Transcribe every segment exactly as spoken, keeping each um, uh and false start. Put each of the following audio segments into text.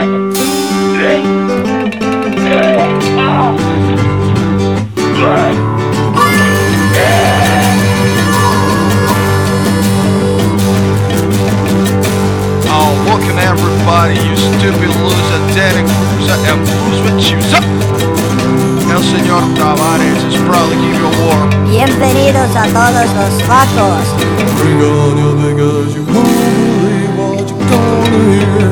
Everybody, you stupid loser, Danny Cruiser, and Bruce with Chooser. El señor Tavares is proud to give you a war. Bienvenidos a todos los vacos. Bring on your niggas, you won't believe what you're gonna hear.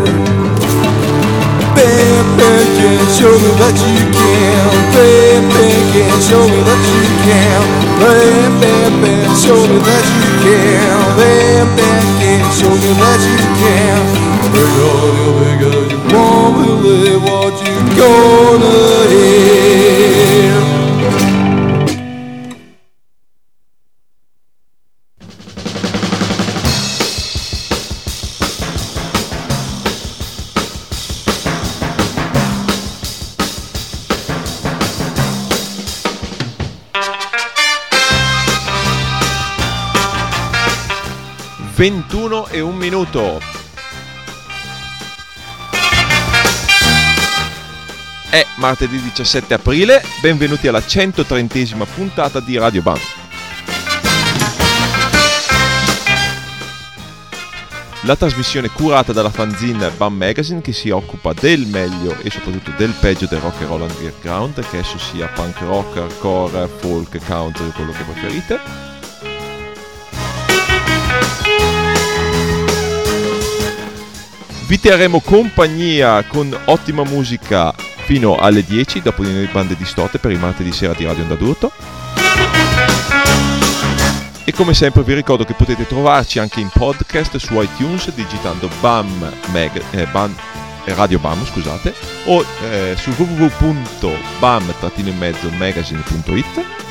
Bam, bam, can show me that you can. Bam, bam, can show me that you can. Bam, bam, bam, show me that you can. Bam, bam, can show me that you can. Bring on your niggas, you won't believe what you're gonna hear. ventuno e un minuto. È martedì diciassette aprile, benvenuti alla centotrentesima puntata di Radio Bam. La trasmissione curata dalla fanzine Bam Magazine che si occupa del meglio e soprattutto del peggio del rock and roll underground, che esso sia punk rock, hardcore, folk, country, quello che preferite. Vi terremo compagnia con ottima musica fino alle dieci, dopo di noi bande distorte per il martedì sera di Radio Onda d'Urto. E come sempre vi ricordo che potete trovarci anche in podcast su iTunes digitando Bam, Mag, eh, Bam eh, Radio Bam, scusate, o eh, su w w w punto bam magazine punto it.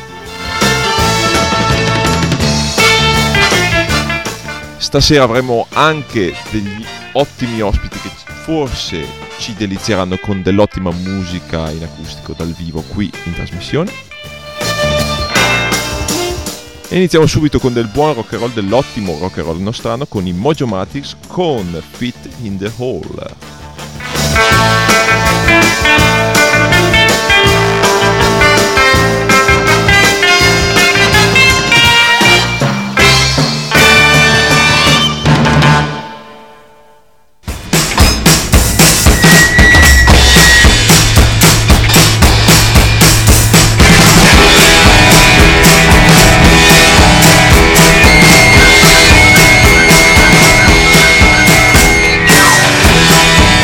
Stasera avremo anche degli ottimi ospiti che forse ci delizieranno con dell'ottima musica in acustico dal vivo qui in trasmissione. E iniziamo subito con del buon rock and roll, dell'ottimo rock and roll nostrano con i Mojomatics con Fit in the Hole. Bam,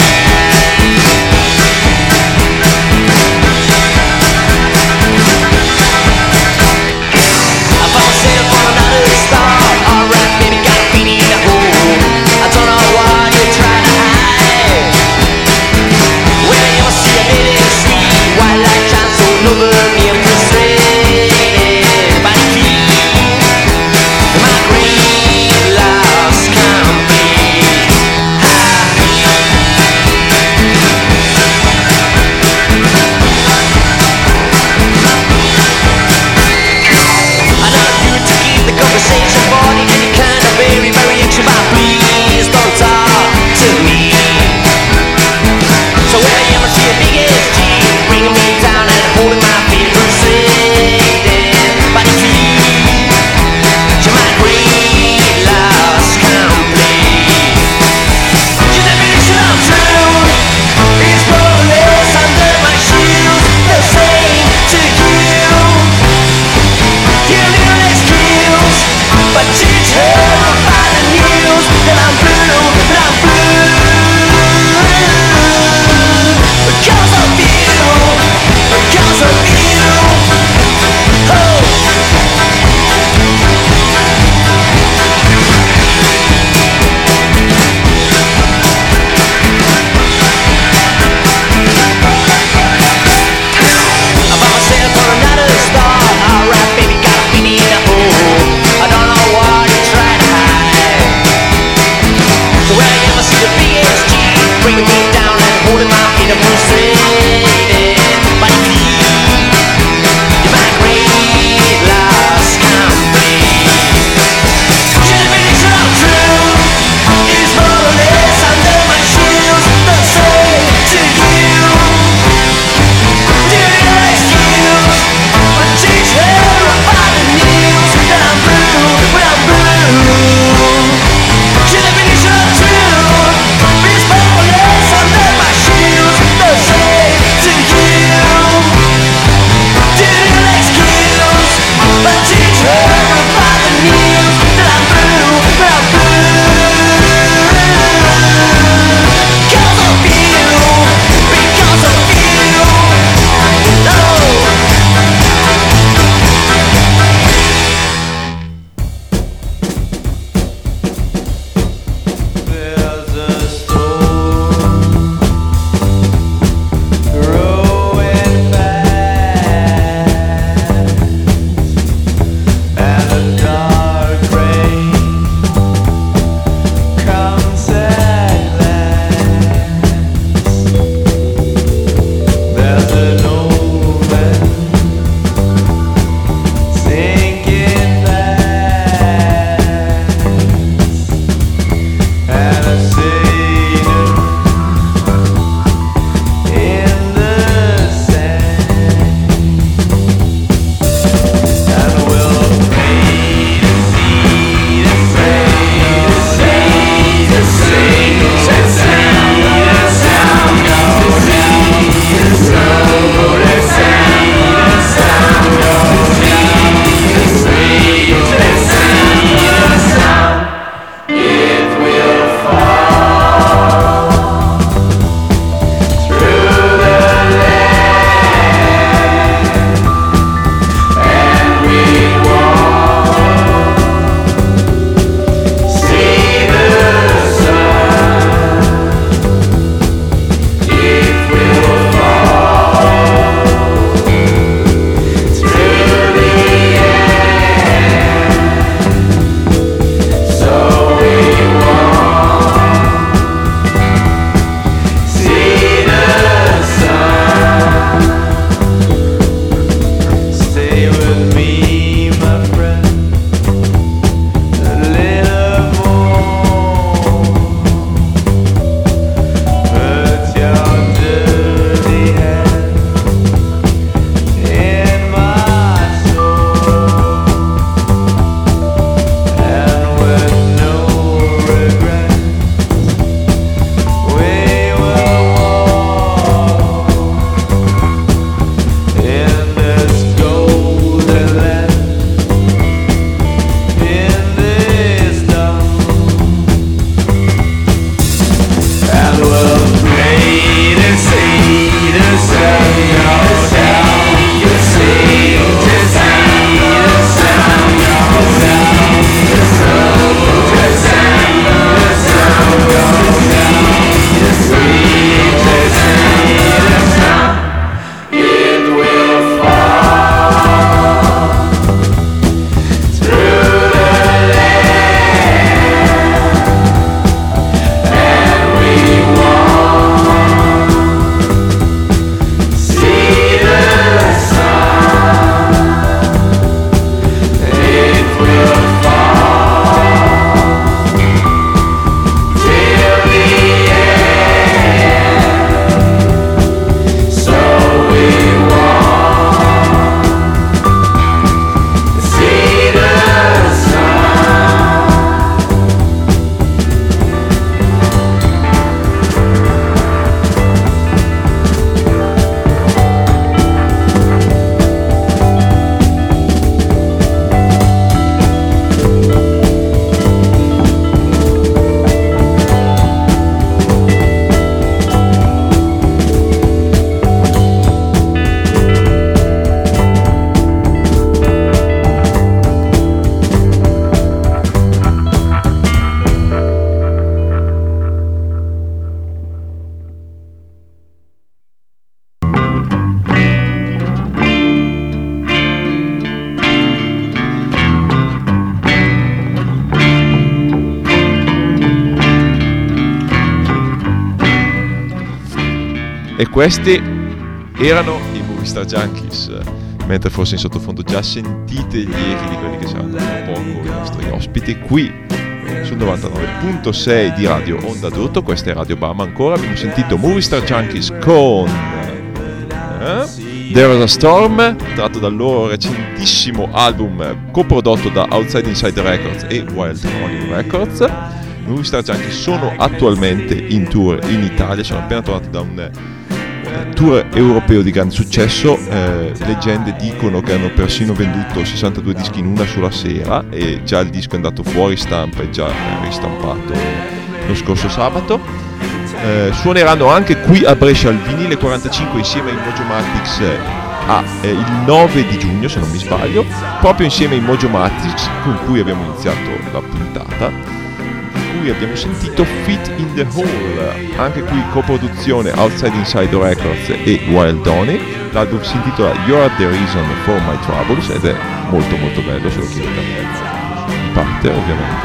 E questi erano i Movie Star Junkies, mentre forse in sottofondo già sentite gli echi di quelli che saranno tra poco i nostri ospiti qui sul novantanove virgola sei di Radio Onda d'Urto. Questa è Radio Bam ancora. Abbiamo sentito Movie Star Junkies con eh? There Was a Storm, tratto dal loro recentissimo album coprodotto da Outside Inside Records e Wild Pony Records. I Movie Star Junkies sono attualmente in tour in Italia, sono appena tornati da un tour europeo di grande successo. Eh, leggende dicono che hanno persino venduto sessantadue dischi in una sola sera e già il disco è andato fuori stampa e già ristampato lo scorso sabato. Eh, suoneranno anche qui a Brescia al Vinile quarantacinque insieme ai Mojomatics a, eh, il nove di giugno, se non mi sbaglio, proprio insieme ai Mojomatics con cui abbiamo iniziato la puntata. Abbiamo sentito Fit in the Hole, anche qui coproduzione Outside Inside Records e Wild Donny. L'album si intitola You're the Reason for My Troubles ed è molto molto bello, se lo chiedete di parte ovviamente.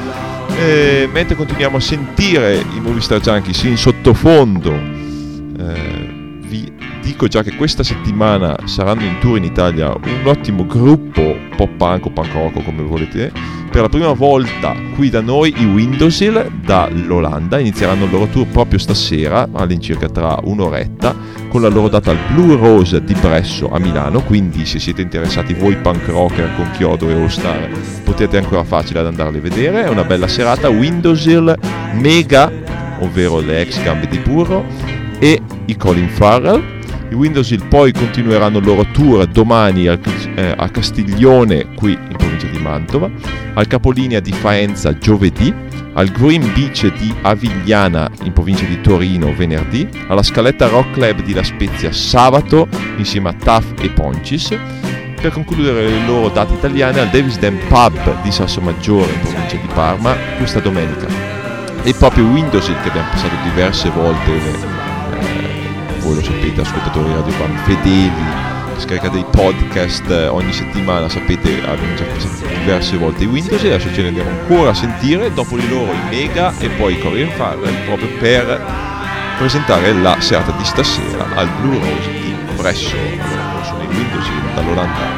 E mentre continuiamo a sentire i Movie Star Junkies in sottofondo, eh, vi dico già che questa settimana saranno in tour in Italia un ottimo gruppo pop punk o punk rock, come volete. Per la prima volta qui da noi i Windowsill dall'Olanda inizieranno il loro tour proprio stasera, all'incirca tra un'oretta, con la loro data al Blue Rose di Bresso a Milano. Quindi se siete interessati voi punk rocker con chiodo e all star potete ancora facile ad andarli a vedere. È una bella serata. Windowsill, Mega, ovvero le ex Gambe di Burro, e i Colin Farrell. I Windowsill poi continueranno il loro tour domani al, eh, a Castiglione, qui in provincia di Mantova, al capolinea di Faenza giovedì, al Green Beach di Avigliana in provincia di Torino venerdì, alla Scaletta Rock Club di La Spezia sabato insieme a Taff e Poncis, per concludere le loro date italiane al Davis Dam Pub di Sassomaggio in provincia di Parma questa domenica. E proprio Windowsill, che abbiamo passato diverse volte, eh, voi lo sapete, ascoltatori Radio Bam fedeli, scaricate i podcast ogni settimana, sapete, abbiamo già passato diverse volte i Windows e adesso ce ne andiamo ancora a sentire, dopo di loro i Mega e poi i Colin Farrell, proprio per presentare la serata di stasera al Blue Rose di Bresso. Allora, sono i Windows dall'Olanda.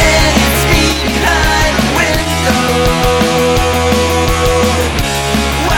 Window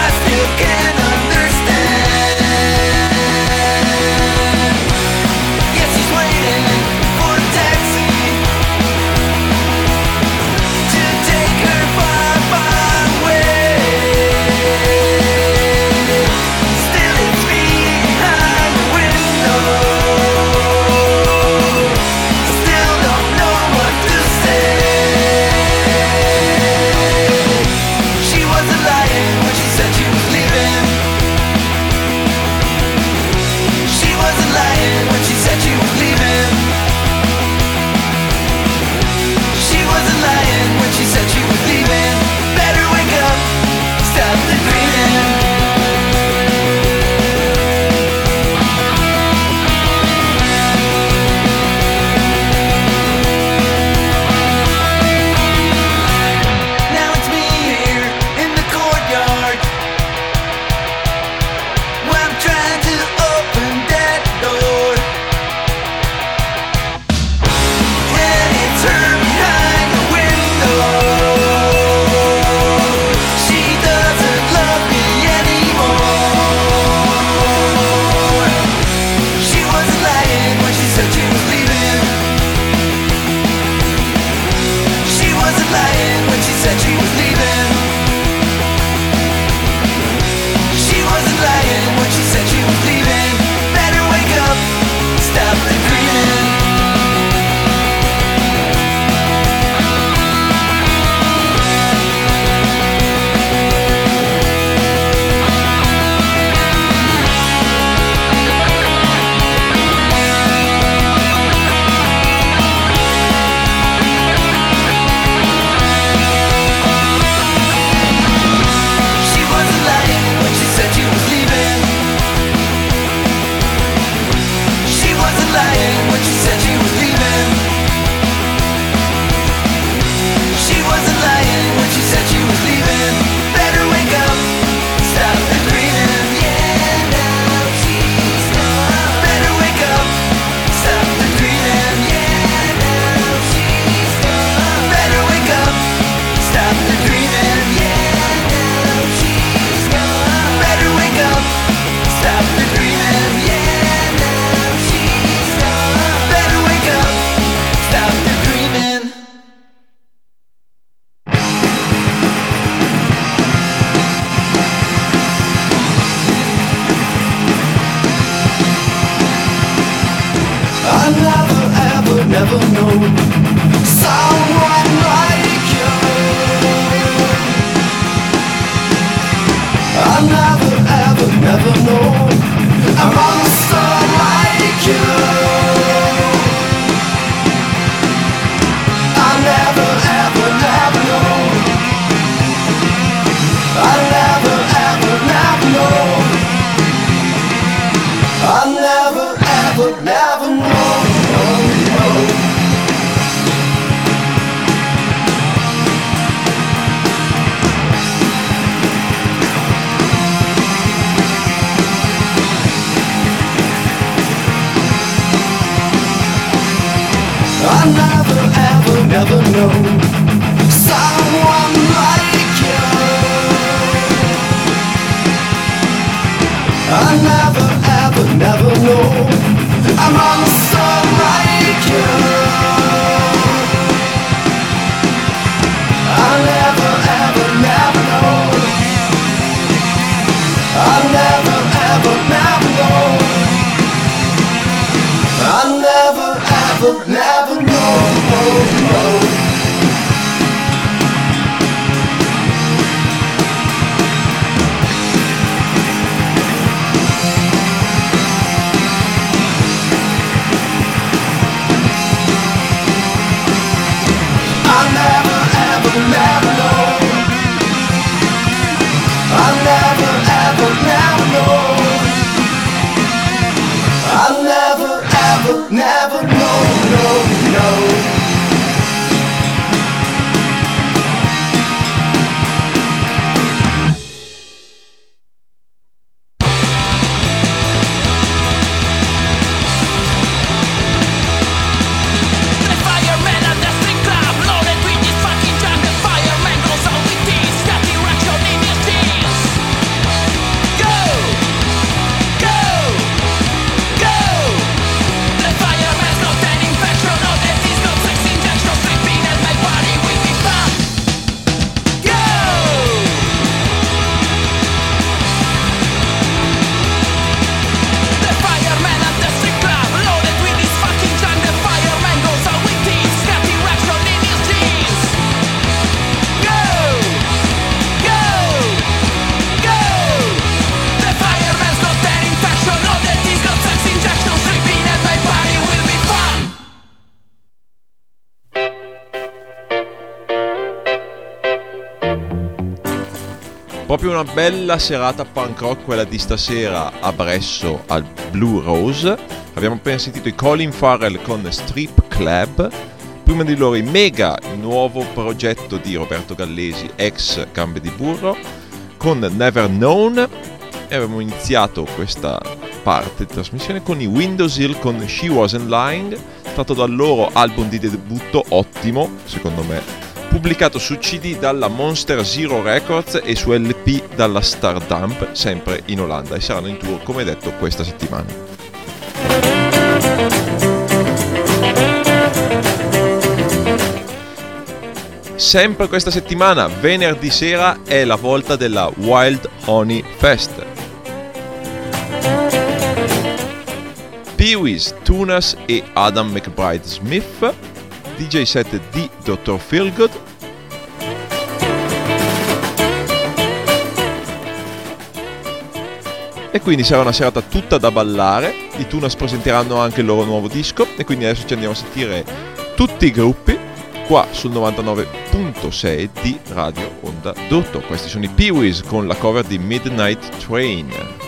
someone like you. I never ever never know a monster like you. I never ever never know. I never ever never know. I never ever never know. I never ever never know someone like you. I never ever never know a monster like you. I never ever never know. I never ever never know. I never ever never know. I never ever never know. I never ever never know. I never ever never know, no, no. Proprio una bella serata punk rock quella di stasera a Bresso al Blue Rose. Abbiamo appena sentito i Colin Farrell con Strip Club, prima di loro i Mega, il nuovo progetto di Roberto Gallesi, ex Gambe di Burro, con Never Known, e abbiamo iniziato questa parte di trasmissione con i Windows Hill con She Wasn't Lying, tratto dal loro album di debutto, ottimo secondo me, pubblicato su C D dalla Monster Zero Records e su L P dalla Stardump, sempre in Olanda, e saranno in tour come detto questa settimana. Sempre questa settimana, venerdì sera, è la volta della Wild Honey Fest. Pee Wee's, Tunas e Adam McBride Smith, D J set di dottor Feelgood, e quindi sarà una serata tutta da ballare. I Tunas presenteranno anche il loro nuovo disco, e quindi adesso ci andiamo a sentire tutti i gruppi qua sul novantanove virgola sei di Radio Onda d'Urto. Questi sono i Pee Wees con la cover di Midnight Train.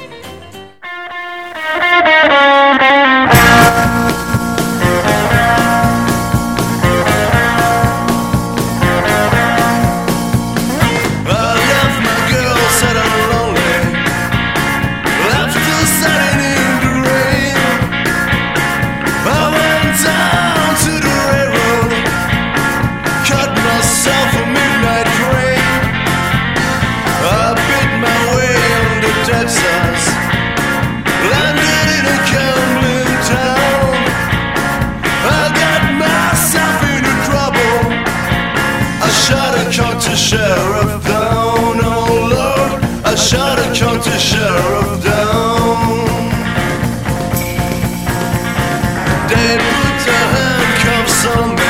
Sheriff down, oh Lord, I shot a county sheriff down. They put the handcuffs on me.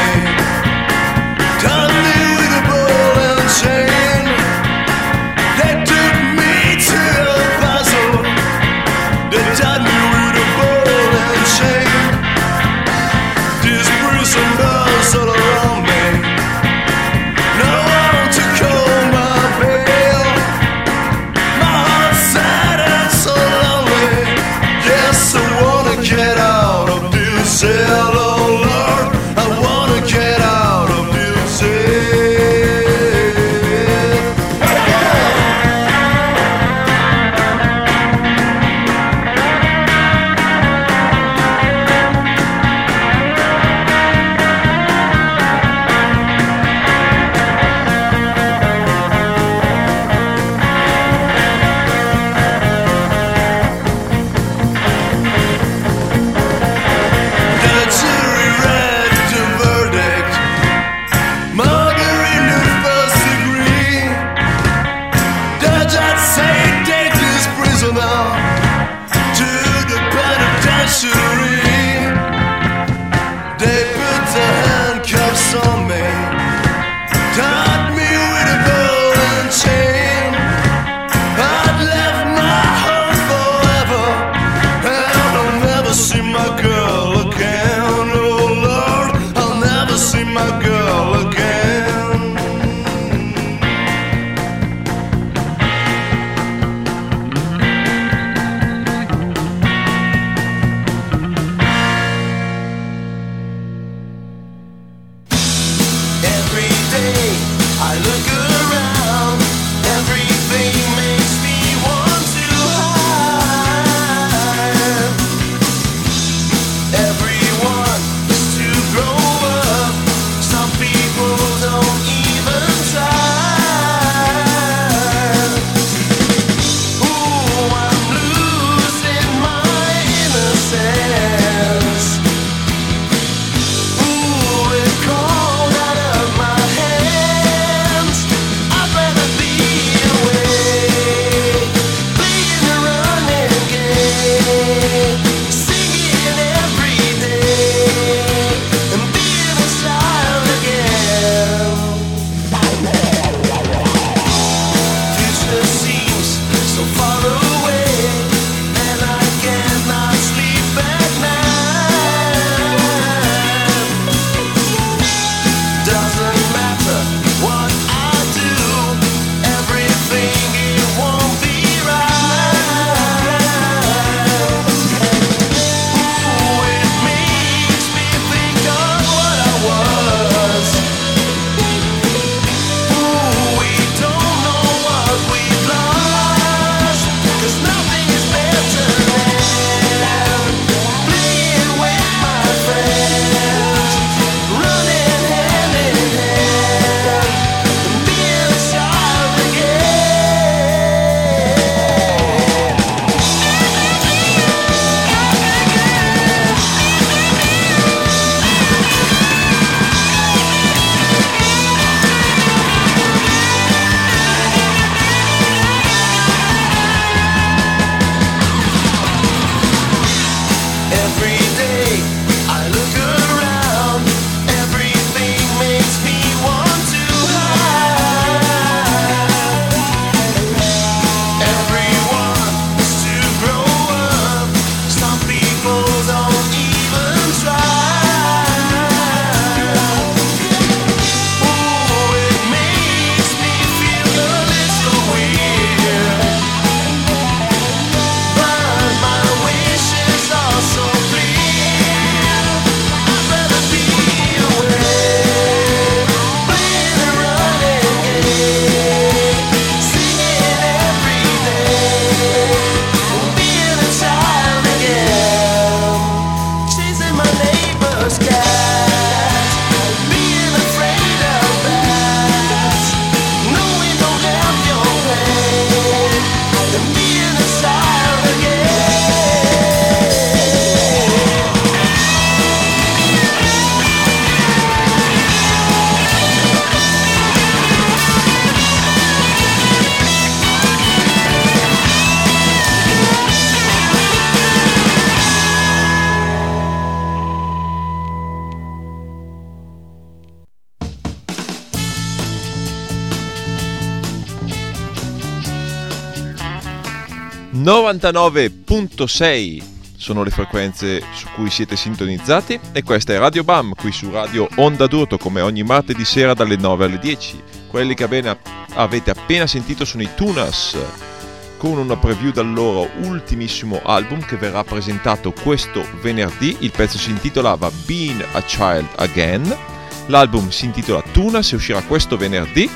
novantanove virgola sei sono le frequenze su cui siete sintonizzati e questa è Radio Bam qui su Radio Onda d'Urto come ogni martedì sera dalle nove alle dieci. Quelli che bene avete appena sentito sono i Tunas con una preview dal loro ultimissimo album che verrà presentato questo venerdì. Il pezzo si intitolava Being a Child Again, l'album si intitola Tunas e uscirà questo venerdì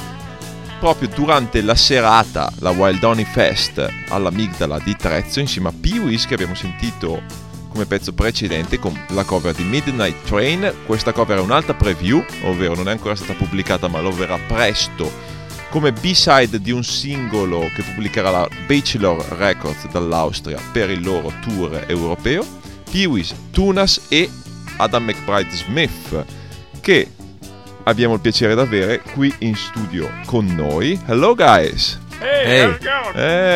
proprio durante la serata, la Wild Honey Fest all'Amigdala di Trezzo, insieme a Pee-wees che abbiamo sentito come pezzo precedente con la cover di Midnight Train. Questa cover è un'altra preview, ovvero non è ancora stata pubblicata ma lo verrà presto come B-side di un singolo che pubblicherà la Bachelor Records dall'Austria per il loro tour europeo. Pee-wees, Tunas e Adam McBride Smith, che abbiamo il piacere di avere qui in studio con noi. Hello guys. Hey, hey. how's it going?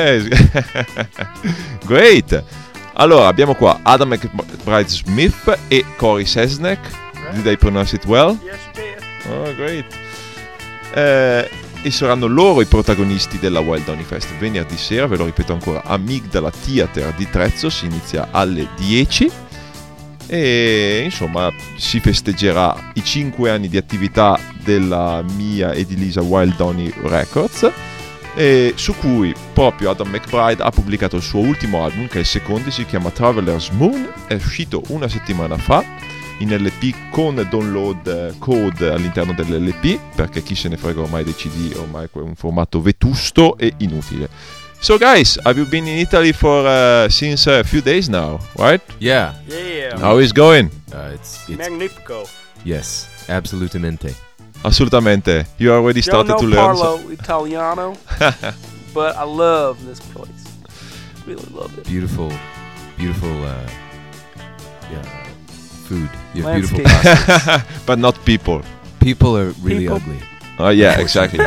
Hey. Great. Allora abbiamo qua Adam McBride Smith e Corey Sesnek. Right. Did I pronounce it well? Yes, you did. Oh, great. Eh, e saranno loro i protagonisti della Wild Honey Fest venerdì sera, ve lo ripeto ancora, Amigdala Theater di Trezzo, si inizia alle dieci. E insomma si festeggerà i cinque anni di attività della mia ed Elisa Wild Honey Records, e su cui proprio Adam McBride ha pubblicato il suo ultimo album, che è il secondo, si chiama Traveler's Moon, è uscito una settimana fa in L P con download code all'interno dell'L P, perché chi se ne frega ormai dei C D, ormai è un formato vetusto e inutile. So guys, have you been in Italy for uh, since a few days now, right? Yeah. Yeah. How is going? Uh, it's it's Magnifico. yes, absolutamente. Assolutamente. You already started Don't to know learn. Parlo Italiano, but I love this place. Really love it. Beautiful, beautiful. Uh, yeah, food. You have beautiful Landscape. pasta. But not people. People are really People. ugly. Oh yeah, exactly.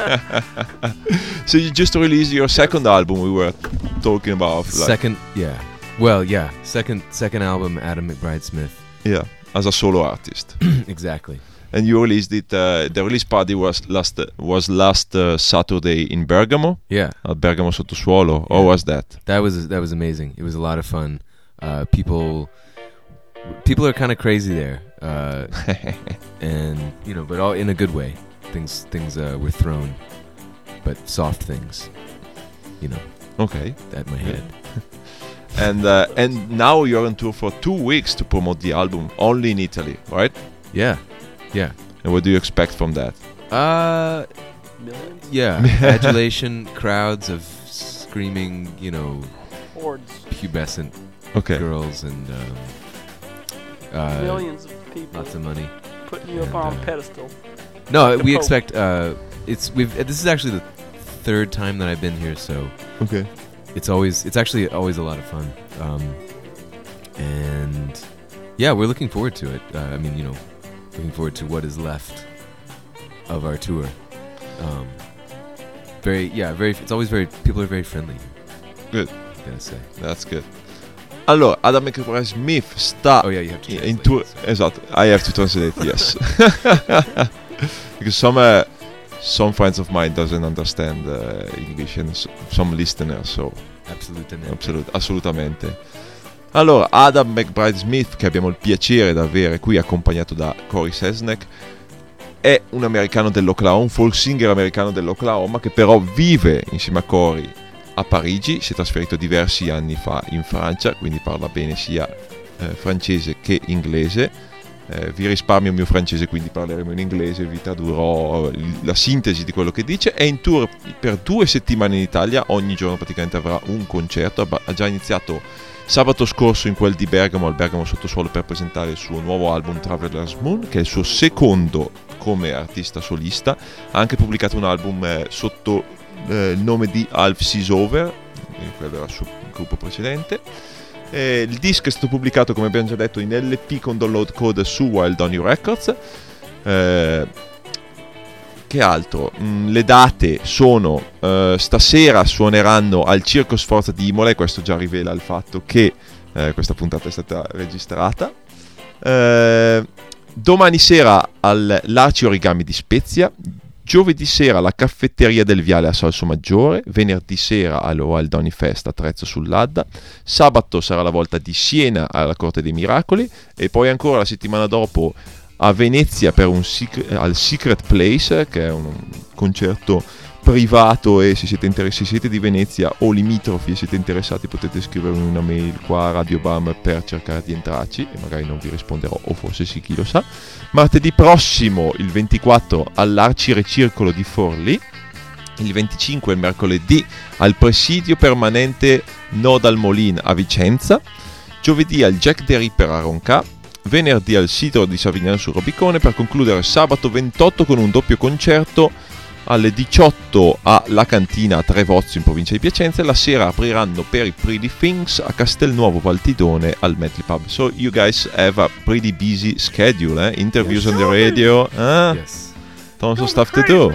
So you just released your second album. We were talking about like, Second, yeah. Well, yeah. Second, second album, Adam McBride Smith. yeah, as a solo artist. Exactly. And you released it. Uh, the release party was last was last uh, Saturday in Bergamo, Yeah, at Bergamo Sottosuolo. How Yeah. was that? that was that was amazing. It was a lot of fun. Uh, people, people are kind of crazy there, uh, and you know, but all in a good way. Things, things uh, were thrown, but soft things. You know, Okay. at my head. And uh, and now you're on tour for two weeks to promote the album only in Italy, right? Yeah, yeah. And what do you expect from that? Uh, Millions? yeah. Adulation, crowds of screaming, you know, Hordes. pubescent Okay. girls, and um, uh, Millions of people lots of money. putting you up and, on uh, a pedestal. No, The we Pope. expect. Uh, it's we've. This is actually the third time that I've been here, so Okay. it's always. It's actually always a lot of fun. Um, and yeah, we're looking forward to it. Uh, I mean, you know, looking forward to what is left of our tour. Um, very, yeah, very. It's always very. People are very friendly. Good. I gotta say. That's good. Allora, Adam McBride Smith sta Oh yeah, you have to. in translate tour. this. Esatto. I have to translate. Yes. Because some uh, some friends of mine doesn't understand uh, English and s- some listeners, so Absolutamente. assolut- assolutamente. Allora, Adam McBride Smith, che abbiamo il piacere di avere qui accompagnato da Cory Sesnek, è un americano dell'Oklahoma, un folk singer americano dell'Oklahoma che però vive insieme a Cory a Parigi, si è trasferito diversi anni fa in Francia, quindi parla bene sia eh, francese che inglese. Eh, vi risparmio il mio francese, quindi parleremo in inglese, vi tradurrò il- la sintesi di quello che dice. È in tour per due settimane in Italia, ogni giorno praticamente avrà un concerto. Ha ha già iniziato sabato scorso in quel di Bergamo, al Bergamo Sottosuolo, per presentare il suo nuovo album Traveler's Moon, che è il suo secondo come artista solista. Ha anche pubblicato un album eh, sotto eh, il nome di Half Seas Over, eh, quello era il suo gruppo precedente. Eh, il disco è stato pubblicato, come abbiamo già detto, in L P con download code su Wild Donny Records. Eh, che altro? Mm, le date sono eh, stasera suoneranno al Circo Sforza di Imola, e questo già rivela il fatto che eh, questa puntata è stata registrata. Eh, domani sera all'Arci Origami di Spezia, giovedì sera alla Caffetteria del Viale a Salso Maggiore, venerdì sera al Wild Donny Fest a Trezzo sull'Adda, sabato sarà la volta di Siena alla Corte dei Miracoli, e poi ancora la settimana dopo a Venezia per un secret, al Secret Place, che è un, un concerto privato, e se siete, inter- se siete di Venezia o limitrofi e siete interessati potete scrivermi una mail qua a Radio Bam per cercare di entrarci, e magari non vi risponderò, o forse sì, chi lo sa. Martedì prossimo, il ventiquattro, all'Arciricircolo di Forlì, il venticinque, il mercoledì, al Presidio Permanente Nodal Molin a Vicenza, giovedì al Jack the Ripper a Ronca, venerdì al sito di Savignano sul Robicone, per concludere sabato ventotto con un doppio concerto alle diciotto alla Cantina a Trevozzo in provincia di Piacenza, e la sera apriranno per i Pretty Things a Castelnuovo Valtidone al Medley Pub. So you guys have a pretty busy schedule, eh? Interviews on the radio, eh? Yes. Tons of stuff to do.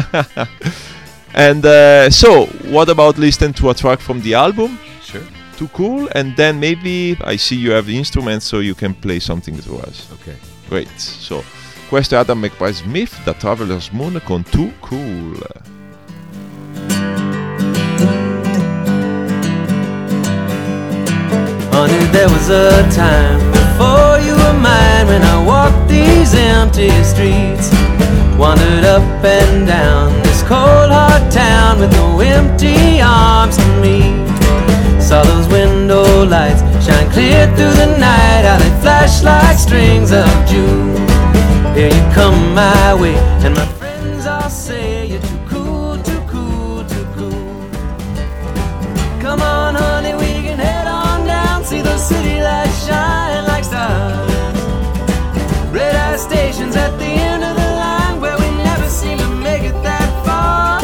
And uh, so, what about listening to a track from the album? Sure. Too cool. And then maybe I see you have the instruments, so you can play something to us. Okay. Great. So, questo è Adam McBride Smith da Traveler's Moon con Too Cool. Honey, there was a time before you were mine, when I walked these empty streets, wandered up and down this cold hard town with no empty arms to meet. Saw those window lights shine clear through the night, how they flash like strings of June. Here you come my way, and my friends all say you're too cool, too cool, too cool. Come on honey, we can head on down, see those city lights shine like stars. Red eye stations at the end of the line, where we never seem to make it that far.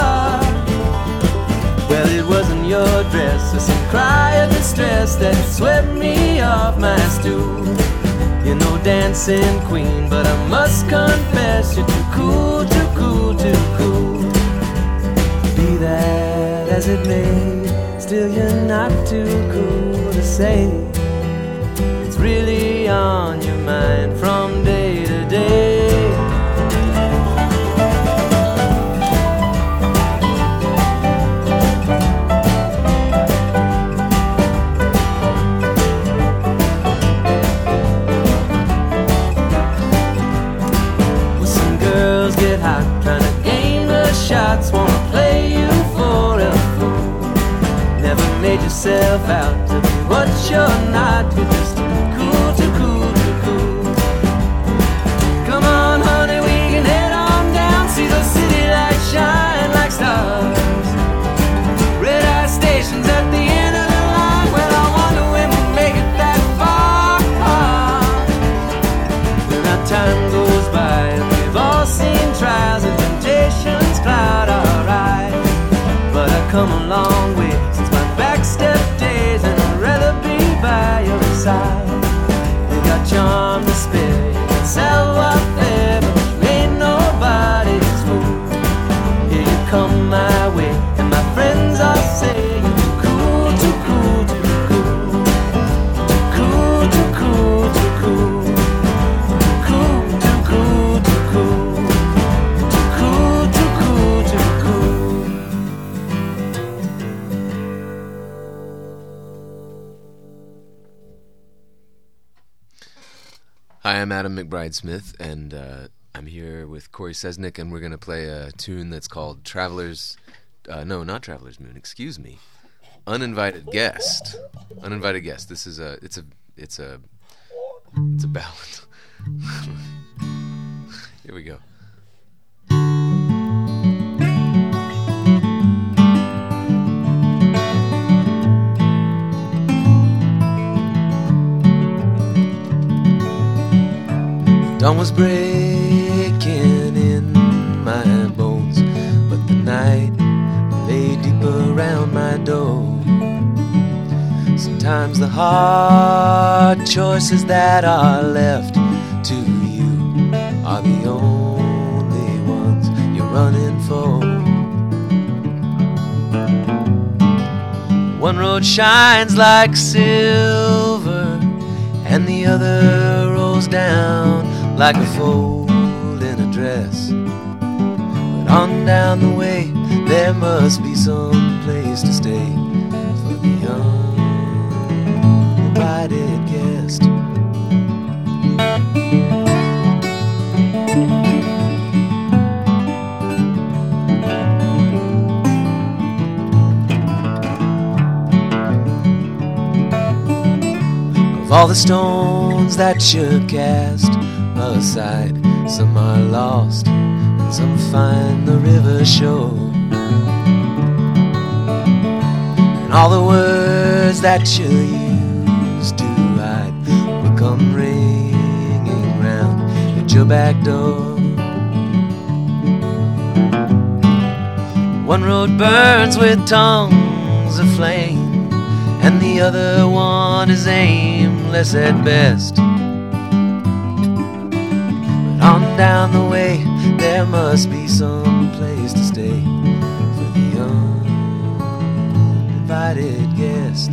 Well, it wasn't your dress or some cry of distress that swept me off my stool. You're no dancing queen, but I must confess you're too cool, too cool, too cool. Be that as it may, still you're not too cool to say. It's really on your mind from day to day. Well, some girls get hot trying to gain the shots, wanna play you for a fool. Never made yourself out to be what you're not. You're just too cool, too cool, too cool. Come on honey, we can head on down, see those city lights shine like stars. Red eye stations at the end of the line, well I wonder when we make it that far. When our time goes by and we've all seen trials and temptations cloud our eyes. But I've come a long way since my backstep days, and I'd rather be by your side. You got charm to spare, you got savoir-faire, but you ain't nobody's fool. Here you come my way, and my friends all say you're too cool, too cool, too cool. Too cool, too cool, too cool. Too cool, too cool, too cool. Too cool, too cool, too cool. Hi, I'm Adam McBride Smith, and uh, I'm here with Corey Sesnick, and we're going to play a tune that's called Traveler's... Uh, no, not Traveler's Moon, excuse me. Uninvited Guest. Uninvited Guest. This is a... It's a... It's a... It's a ballad. Here we go. Dawn was breaking in my bones, but the night lay deep around my door. Sometimes the hard choices that are left to you are the only ones you're running for. One road shines like silver, and the other rolls down like a fold in a dress. But on down the way, there must be some place to stay for the uninvited guest. Of all the stones that you cast aside, some are lost and some find the river shore. And all the words that you used to hide will come ringing round at your back door. One road burns with tongues of flame, and the other one is aimless at best. On down the way, there must be some place to stay for the uninvited guest.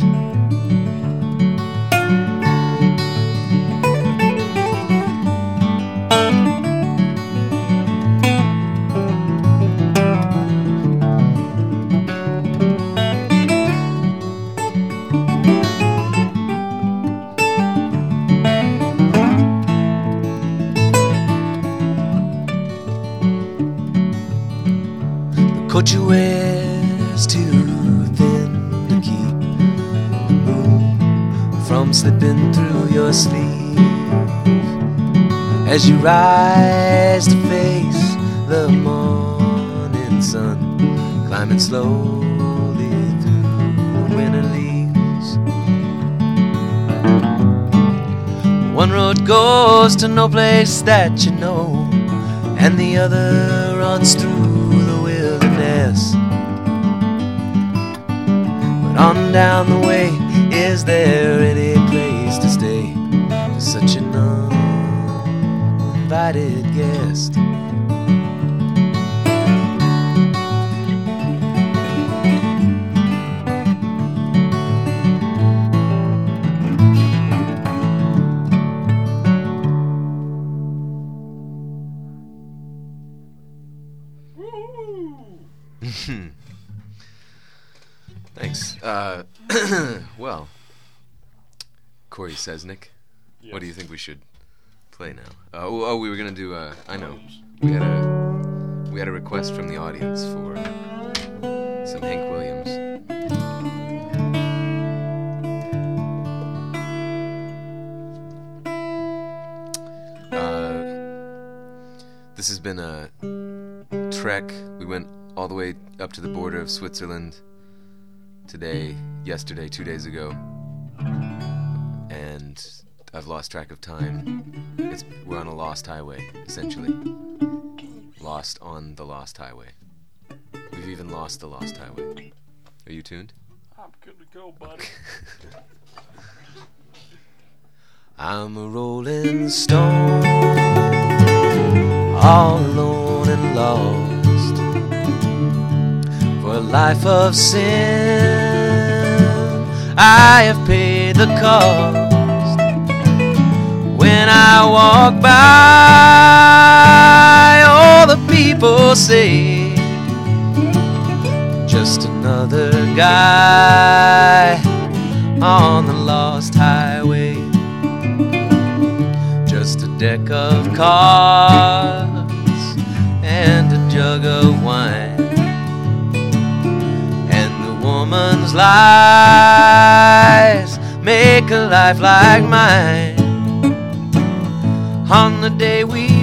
Coat you wear's too thin to keep the moon come slipping through your sleeve as you rise to face the morning sun, climbing slowly through the winter leaves. One road goes to no place that you know, and the other runs through the wilderness. But on down the way, is there any place to stay for such an uninvited guest? Thanks. Uh, well, Corey Sesnick, Yes. what do you think we should play now? Uh, oh, oh, we were gonna do. Uh, I know. We had a we had a request from the audience for some Hank Williams. Uh, this has been a trek. We went all the way up to the border of Switzerland today, yesterday, two days ago, and I've lost track of time. It's, we're on a lost highway, essentially. Lost on the lost highway. We've even lost the lost highway. Are you tuned? I'm good to go, buddy. I'm a rolling stone, all alone and lost, for a life of sin. I have paid the cost. When I walk by, all the people say, just another guy on the lost highway. Just a deck of cards and a jug of wine, and the woman's lies make a life like mine. On the day we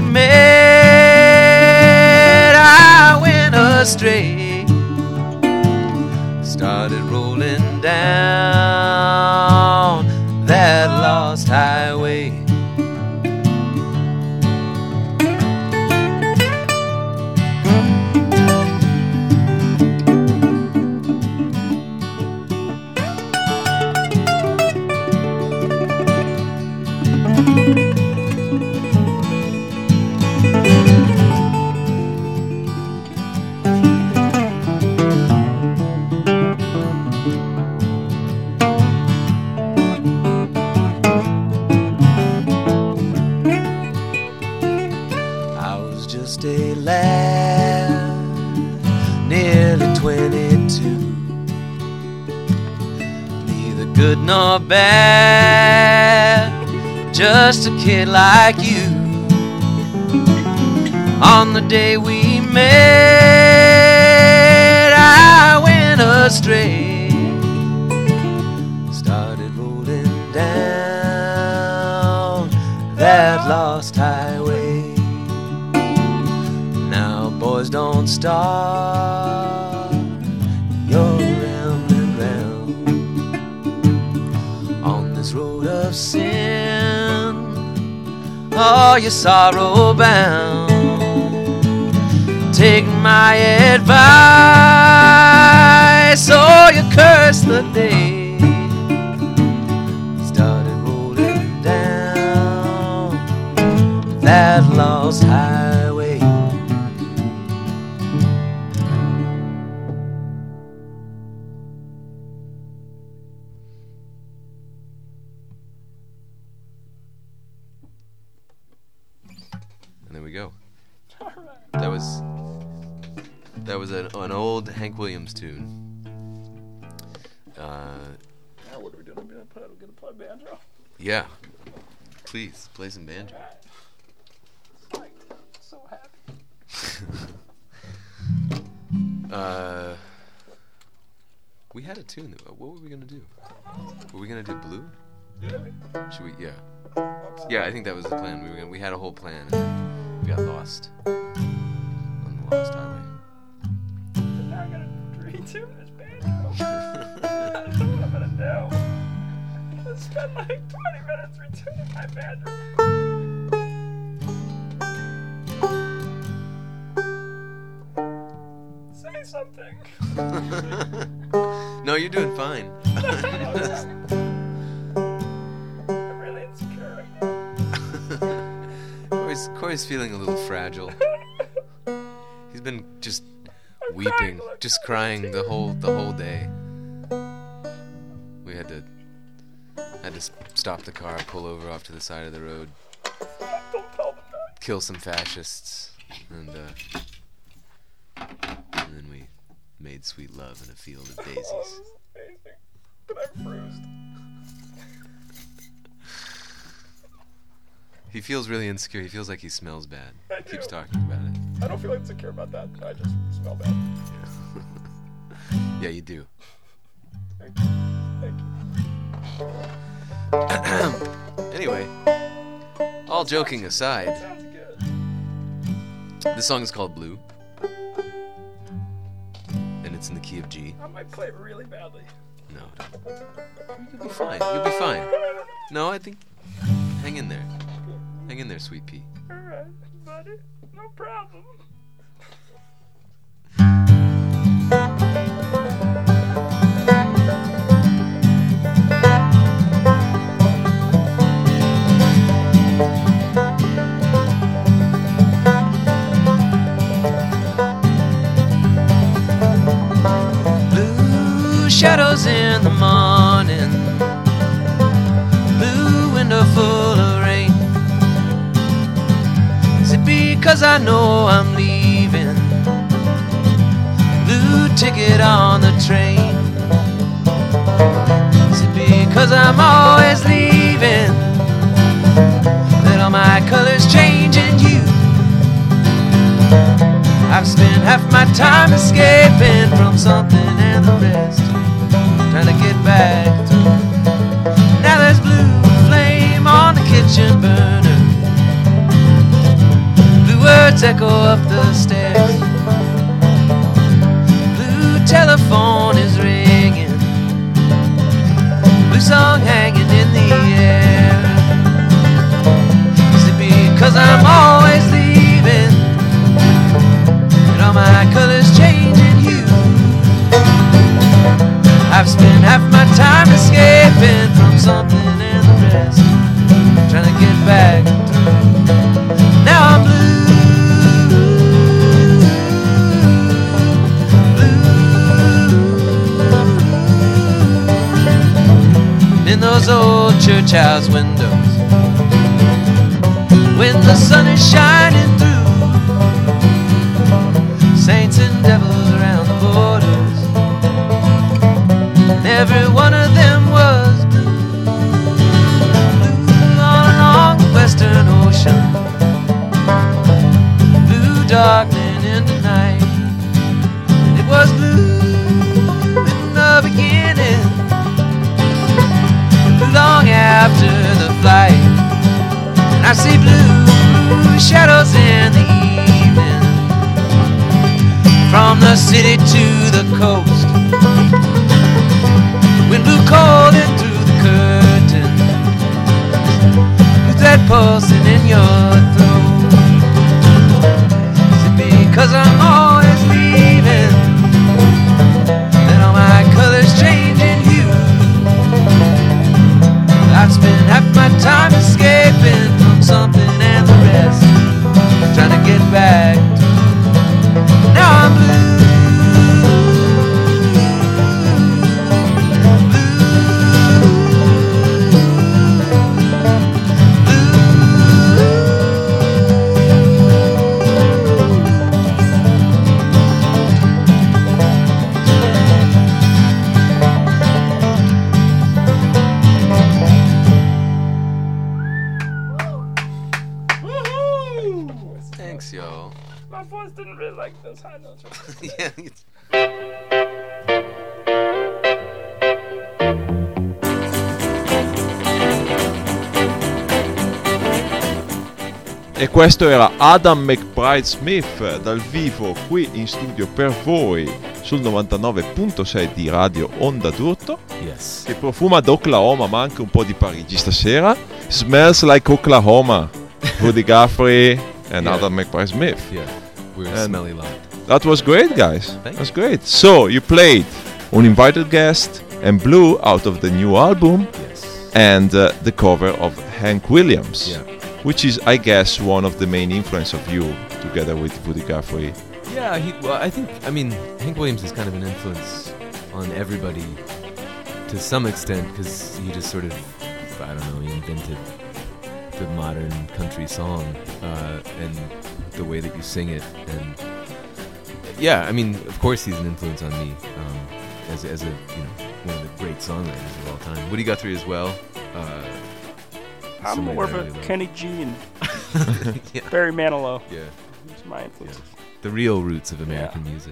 met, I went astray, started rolling down that lost highway. Just a lad, nearly twenty-two, neither good nor bad, just a kid like you. On the day we met, I went astray, started rolling down that lost highway. Boys, don't stop, you're rambling round on this road of sin. Oh, you're sorrow bound. Take my advice, or you curse the day. Started rolling down that lost highway. Go. That was that was an, an old Hank Williams tune. Uh, now what are we doing? Are we gonna play, are we gonna play banjo? Yeah, please play some banjo. Right. So happy. uh, we had a tune. What were we gonna do? Were we gonna do Blue? Should we? Yeah. Yeah, I think that was the plan. We were gonna, we had a whole plan, and then we got lost on the lost highway. And now I gotta retune this banjo. I don't know what I'm gonna do. I'm gonna spend like twenty minutes retuning my banjo. Say something. No, you're doing fine. I'm really insecure right now. Corey's, Corey's feeling a little fragile. He's been just I'm weeping, crying like just a crying the whole the whole day. We had to had to s- stop the car, pull over off to the side of the road, Don't tell them that. kill some fascists, and uh, and then we made sweet love in a field of Oh, this daisies. is amazing. But I'm bruised. He feels really insecure. He feels like he smells bad. I He keeps do. talking about it. I don't feel insecure about that. I just smell bad. Yeah, you do. Thank you. Thank you. Anyway, all joking aside, Sounds good. this song is called Blue, and it's in the key of G. I might play it really badly. No, don't. You'll be fine. You'll be fine. No, I think. Hang in there. Hang in there, sweet pea. Alright, buddy. No problem. Blue shadows in the morning, blue window full of rain. Is it because I know I'm leaving? Blue ticket on the train. Is it because I'm always leaving that all my colors change in hue? I've spent half my time escaping from something and the rest, trying to get back through. Now there's blue flame on the kitchen burner, blue words echo up the stairs, blue telephone is ringing, blue song hanging in the air. Is it because I'm always leaving and all my colors change in hue? I've spent half my time escaping from something and the rest, trying to get back through. Now I'm blue, blue. In those old church house windows, when the sun is shining through, saints and devils around the borders, and every one of them was blue, blue all along the western ocean, blue darkening into night. It was blue in the beginning, blue long after the flight, and I see blue shadows in the evening, from the city to the coast, wind blew cold in through the curtain, with that pulsing in your throat. Is it because I'm always leaving that all my colors change in hue? I've spent half my time escaping from something and the rest, trying to get back through. Now I'm blue. Thanks, yo. My voice didn't really like those high notes. Yeah. it's- E questo era Adam McBride Smith dal vivo qui in studio per voi sul novantanove virgola sei di Radio Onda d'Urto, Yes. che profuma d'Oklahoma ma anche un po' di Parigi stasera. Smells like Oklahoma. Woody Guthrie and Yeah. Adam McBride Smith. Yeah. We're a And- smelly lot. That was great, guys. Thank That's great. So you played Uninvited Guest and Blue out of the new album, Yes. and uh, the cover of Hank Williams, Yeah. which is, I guess, one of the main influence of you, together with Woody Guthrie. Yeah, he, well, I think, I mean, Hank Williams is kind of an influence on everybody to some extent, because he just sort of, I don't know, he invented the modern country song uh, and the way that you sing it. And yeah, I mean, of course he's an influence on me um, as, as a, you know, one of the great songwriters of all time. Woody Guthrie as well. Uh, I'm somebody more of that I a really love. Kenny G and Yeah. Barry Manilow. Yeah, Those are my influences. the real roots of American music.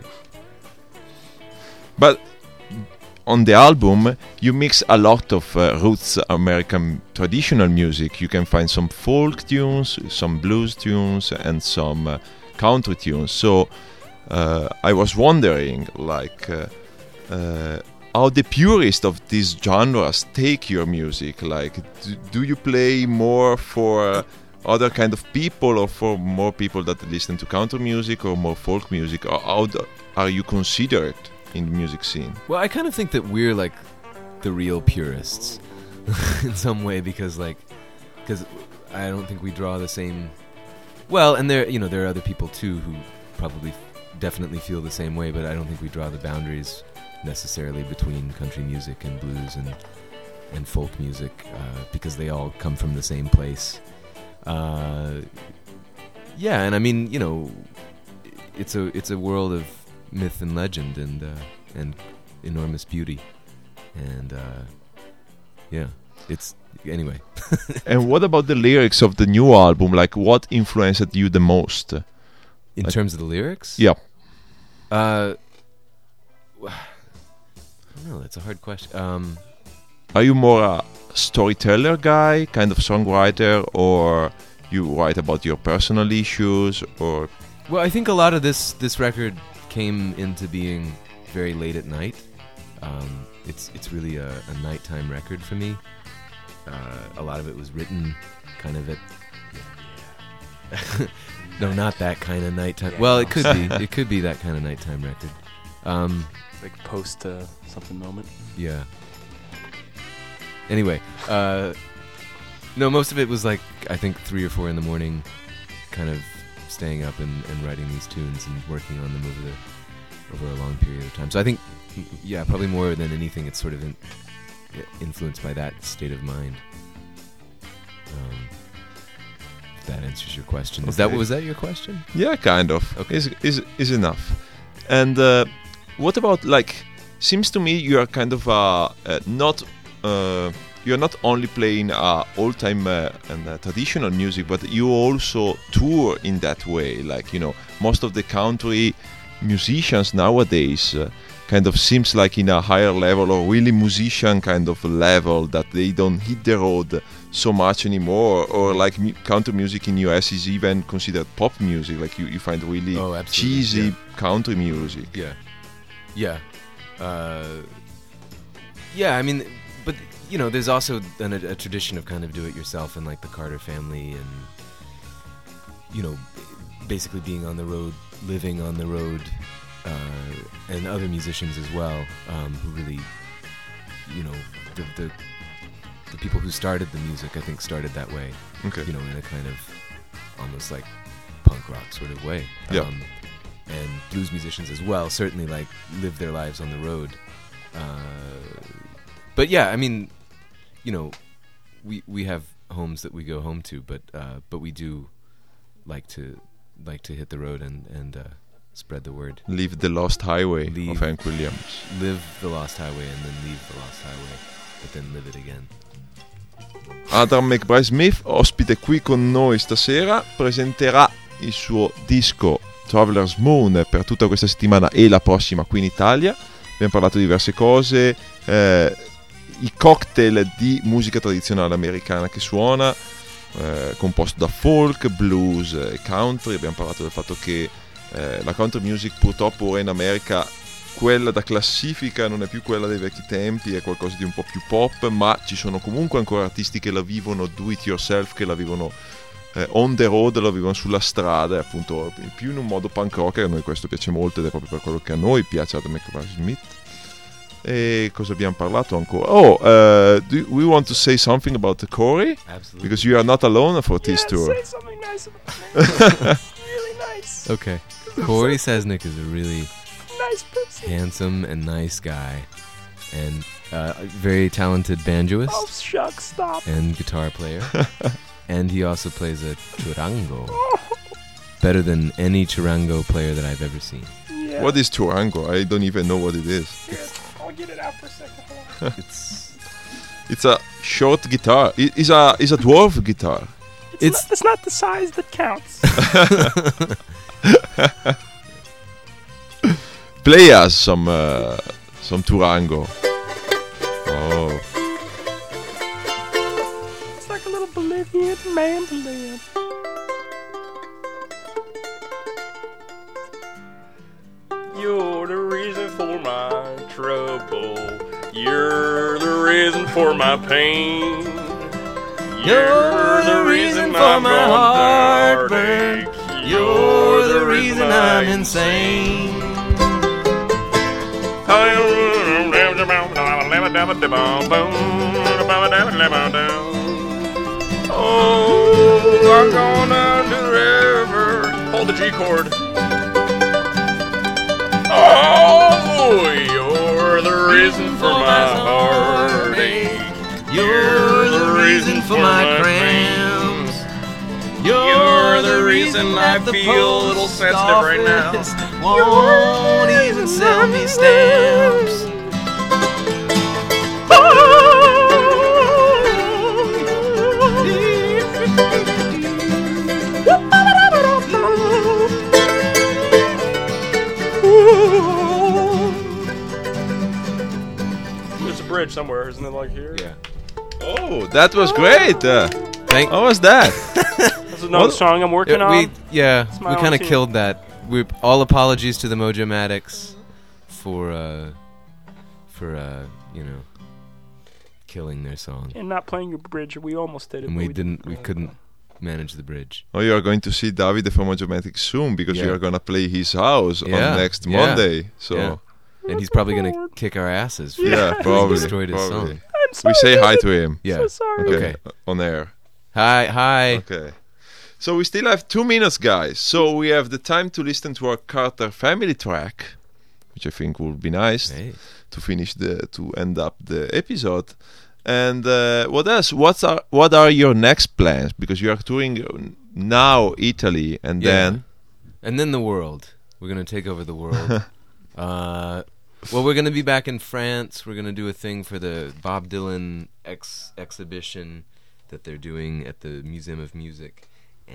But on the album, you mix a lot of uh, roots American traditional music. You can find some folk tunes, some blues tunes, and some uh, country tunes. So uh, I was wondering, like, uh, uh, how the purists of these genres take your music. Like, do, do you play more for uh, other kind of people, or for more people that listen to country music, or more folk music? Or how do, are you considered in the music scene? Well, I kind of think that we're like the real purists in some way, because like, because I don't think we draw the same. Well, and there, you know, there are other people too who probably definitely feel the same way, but I don't think we draw the boundaries necessarily between country music and blues and and folk music uh, because they all come from the same place. Uh, yeah, and I mean, you know, it's a it's a world of myth and legend and uh, and enormous beauty, and uh, yeah, it's anyway. And what about the lyrics of the new album? Like, what influenced you the most? In Like- terms of the lyrics, Yeah. Uh, I don't know. That's a hard question. Um, Are you more a storyteller guy, kind of songwriter, or you write about your personal issues, or well, I think a lot of this this record came into being very late at night. Um, it's it's really a, a nighttime record for me. Uh, a lot of it was written kind of at no, not that kind of nighttime. Well, it could be. It could be that kind of nighttime record. Um, Like post uh, something moment. yeah. Anyway, uh, no, most of it was like I think three or four in the morning, kind of staying up and, and writing these tunes and working on them over the over a long period of time. So I think, yeah, probably more than anything, it's sort of in, influenced by that state of mind. Um, if that answers your question. Is that Okay. was that your question? yeah, kind of. Okay. Is is is enough. And uh, what about, like? Seems to me you are kind of uh, uh, not. Uh, you're not only playing uh, old-time uh, and uh, traditional music, but you also tour in that way. Like, you know, most of the country musicians nowadays uh, kind of seems like in a higher level, or really musician kind of level, that they don't hit the road so much anymore. Or like mu- country music in U S is even considered pop music. Like you, you find really Oh, absolutely, cheesy yeah. country music. Yeah, yeah, uh, yeah. I mean, but you know, there's also an, a, a tradition of kind of do-it-yourself, and like the Carter family, and you know, basically being on the road, living on the road, uh, and other musicians as well, um, who really, you know, the, the the people who started the music, I think, started that way. Okay. You know, in a kind of almost like punk rock sort of way. Yeah. Um, and blues musicians as well certainly like live their lives on the road. Uh, but yeah, I mean, you know, we we have homes that we go home to, but uh, but we do like to like to hit the road and and uh, spread the word. Leave the Lost Highway Leave. of Hank Williams. Live the Lost Highway and then leave the Lost Highway, but then live it again. Adam McBride Smith, ospite qui con noi stasera, presenterà il suo disco Traveler's Moon per tutta questa settimana e la prossima qui in Italia. Abbiamo parlato di diverse cose, eh, i cocktail di musica tradizionale americana che suona, eh, composto da folk, blues e country. Abbiamo parlato del fatto che eh, la country music purtroppo ora in America, quella da classifica non è più quella dei vecchi tempi, è qualcosa di un po' più pop, ma ci sono comunque ancora artisti che la vivono do it yourself, che la vivono eh, on the road, la vivono sulla strada, appunto più in un modo punk rock. A noi questo piace molto ed è proprio per quello che a noi piace Adam McBride Smith. E cosa abbiamo parlato ancora? Oh, uh, do we want to say something about the Corey? Absolutely. Because you are not alone for this Yeah, tour. say something nice about me. Really nice. Okay. Corey Sesnick is a really Nice person. handsome and nice guy, and uh, a very talented banjoist Oh, shucks, stop. and guitar player. And he also plays a churango, better than any churango player that I've ever seen. Yeah. What is Turango? I don't even know what it is. Here, I'll get it out for a second. Hold on. It's It's a short guitar. It- It's a it's a dwarf guitar. It's, It's- not, it's not the size that counts. Play us some uh, some Turango. Oh, It's like a little Bolivian mandolin. You're the reason for my trouble. You're the reason for my pain. You're the reason for my heartbreak. You're the reason I'm insane. Oh, I'm gonna do whatever. Hold the G chord. Oh, you're the reason for my heartache. You're the reason for my cramps. You're the reason I feel a little sensitive right now. Won't even sell me stamps. There's a bridge somewhere, isn't it? Like here. yeah. oh, that was great. Uh, Thank. how was that? That's another What? song I'm working Uh, on. we yeah my we own kind of team. killed that. We all apologies to the Mojomatics for uh for uh you know killing their song, And not playing your bridge. We almost did it. and but we didn't we couldn't manage the bridge. Oh, you are going to see Davide from Mojomatic soon because you Yeah. are gonna play his house Yeah, on next yeah, Monday. So yeah. And he's probably gonna kick our asses. For yeah, having probably. destroyed his probably. song. I'm sorry. We say hi David. to him. Yeah. So sorry. Okay, Okay. uh, on air. Hi hi. Okay. So we still have two minutes, guys. So we have the time to listen to our Carter family track, which I think would be nice Hey. to finish the to end up the episode. And uh, what else? What's our, what are your next plans? Because you are touring now Italy, and Yeah. then And then the world. We're gonna take over the world. uh, well, we're gonna be back in France. We're gonna do a thing for the Bob Dylan ex- exhibition that they're doing at the Museum of Music,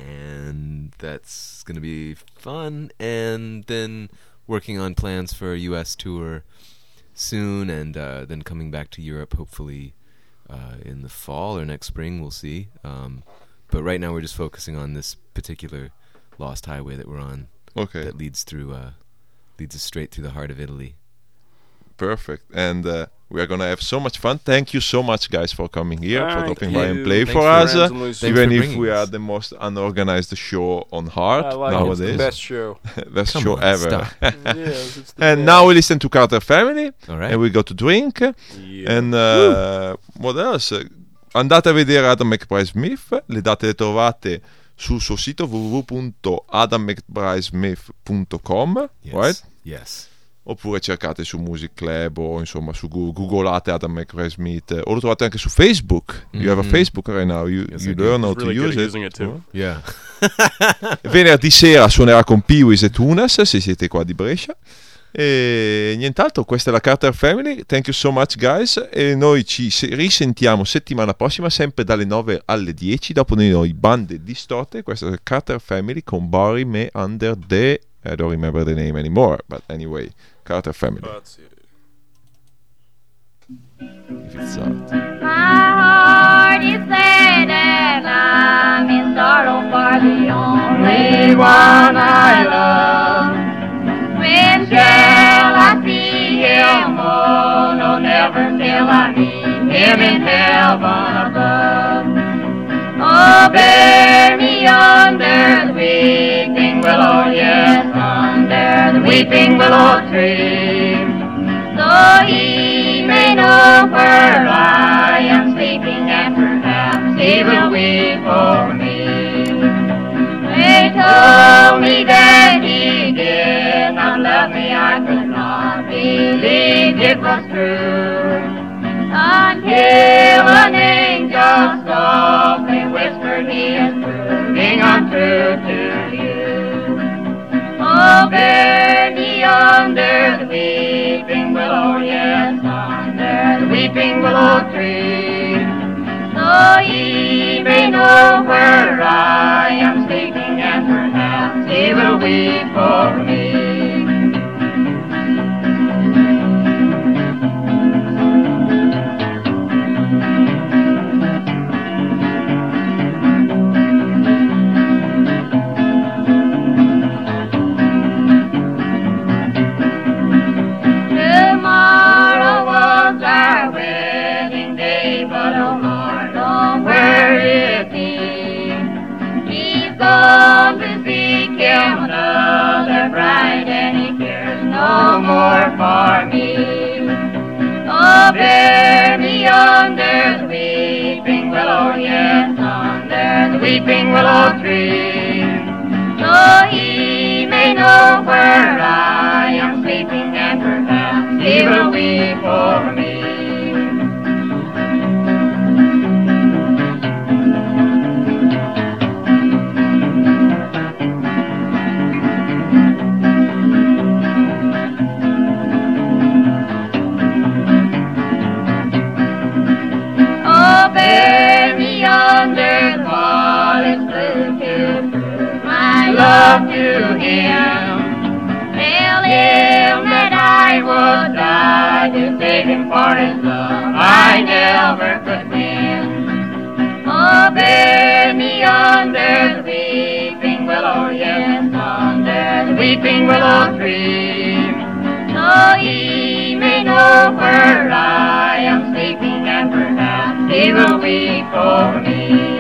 and that's gonna be fun. And then working on plans for a U S tour soon, and uh, then coming back to Europe hopefully uh, in the fall or next spring. We'll see. Um, but right now we're just focusing on this particular lost highway that we're on okay, that leads through uh, leads us straight through the heart of Italy. perfect. And uh, we are gonna have so much fun. Thank you so much, guys, for coming here, for Thank dropping by and you. play Thanks for for us. Friends uh, and Lucy. Thanks even for if bringing we us. are the most unorganized show on Heart I like it. It's nowadays, the best show. best Come show on, ever. stop. Yes, it's the And best. now we listen to Carter Family, All right. and we go to drink. Yeah. And uh, what else? Andate a vedere Adam McBride Smith, le date le trovate sul suo sito w w w punto adam mcbride smith punto com, yes. right? Yes. Oppure cercate su Music Club o insomma su Google, googolate Adam McBride Smith, o lo trovate anche su Facebook. You have a Mhm. Facebook right now, you, Yes, you I do. learn how He's to really good use at it. using it too. Yeah. Venerdì sera suonerà con Pee-Wees e Tunas, se siete qua di Brescia. E nient'altro, questa è la Carter Family. Thank you so much, guys. E noi ci se- risentiamo settimana prossima, sempre dalle nove alle dieci. Dopo di noi, Bande Distorte. Questa è la Carter Family con Bury Me Under the... I don't remember the name anymore, but anyway, Carter Family. That's it. If it's out. My heart heart is sad and I'm in sorrow for the only one I love. When shall I see him? Oh, no, never till I meet him in heaven above. Oh, bear me under the weeping willow, yes, under the weeping willow tree, so he may know where I am sleeping, and perhaps he will weep over me. They told me that he did not love me, I could not believe it was true, until an angel softly whispered, he is proving untrue to you. Oh, bear me under the weeping willow, yes, under the weeping willow tree, so he may know where I am sleeping, and perhaps he will weep over me. Tomorrow was our wedding day, but oh Lord, oh, where is he? He's gone to seek him another bride, and he cares no more for me. Oh, bear me under the weeping willow, yes, under the weeping willow tree, so he may know where I am sleeping, and perhaps he will weep over me. Oh, bear me under the forest blue to prove my love to him. Tell him that I would die to save him, for his love I never could win. Oh, bear me under the weeping willow, yes, under the weeping willow tree, so he may know where I am sleeping, and perhaps he will weep over me.